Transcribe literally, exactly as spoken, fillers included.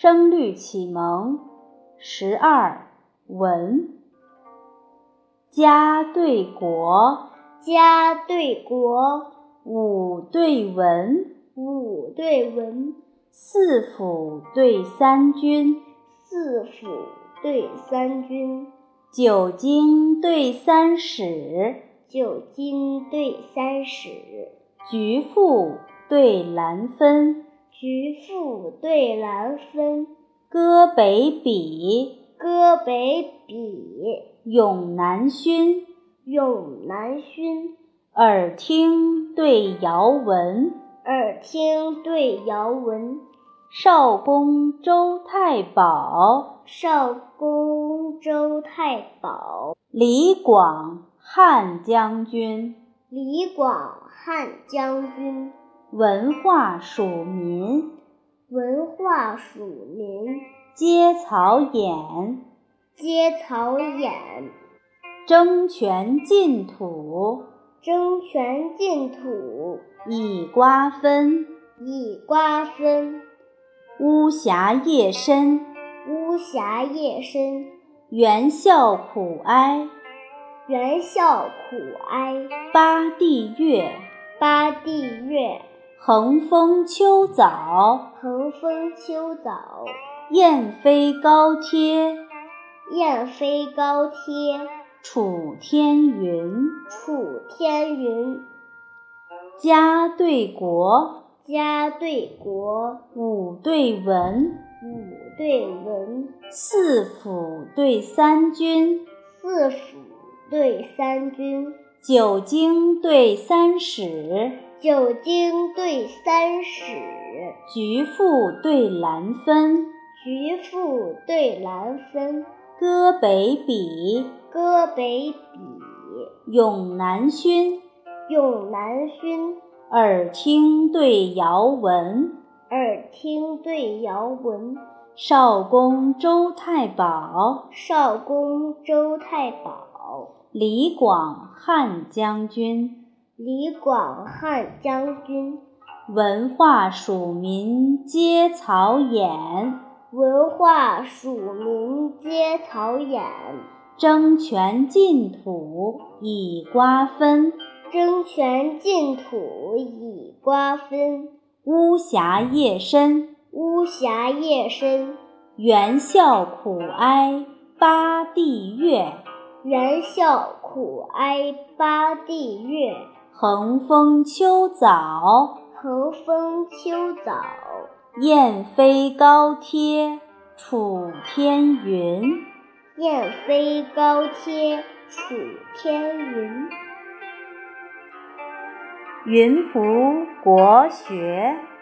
声律启蒙十二文。家对国， 家对国， 武对文， 武对文， 四府对三军， 四府对三军， 九经对三史， 九经对三史， 菊赋对兰分， 菊赋对兰分， 歌北比， 歌北比， 咏南薰， 咏南薰， 耳听对遥闻， 耳听对遥闻， 少公周太保， 少公周太保， 李广汉将军， 李广汉将军， 文化属民， 文化属民， 接曹偃， 接曹偃， 争权进土， 争权进土， 以瓜分， 以瓜分， 巫峡夜深， 巫峡夜深， 袁孝苦哀， 袁孝苦哀， 八地乐， 八地乐， 横风秋早， 横风秋早， 雁飞高贴， 雁飞高贴， 楚天云， 楚天云， 家对国， 家对国， 武对文， 武对文， 四府对三军， 四府对三军， 九经对三史， 九经对三史， 菊赋对兰分， 菊赋对兰分， 歌北比， 歌北比， 咏南薰， 咏南薰， 耳听对遥闻， 耳听对遥闻， 少公周太保， 少公周太保， 李广汉将军， 李广汉将军， 文化属民接曹偃， 文化属民接曹偃， 争权进土以瓜分， 争权进土以瓜分， 巫峡夜深， 巫峡夜深， 袁孝苦哀八地乐， 袁孝苦哀八地乐， 横风秋早， 横风秋早， 雁飞高贴，楚天云， 雁飞高贴，楚天云。 云仆国学。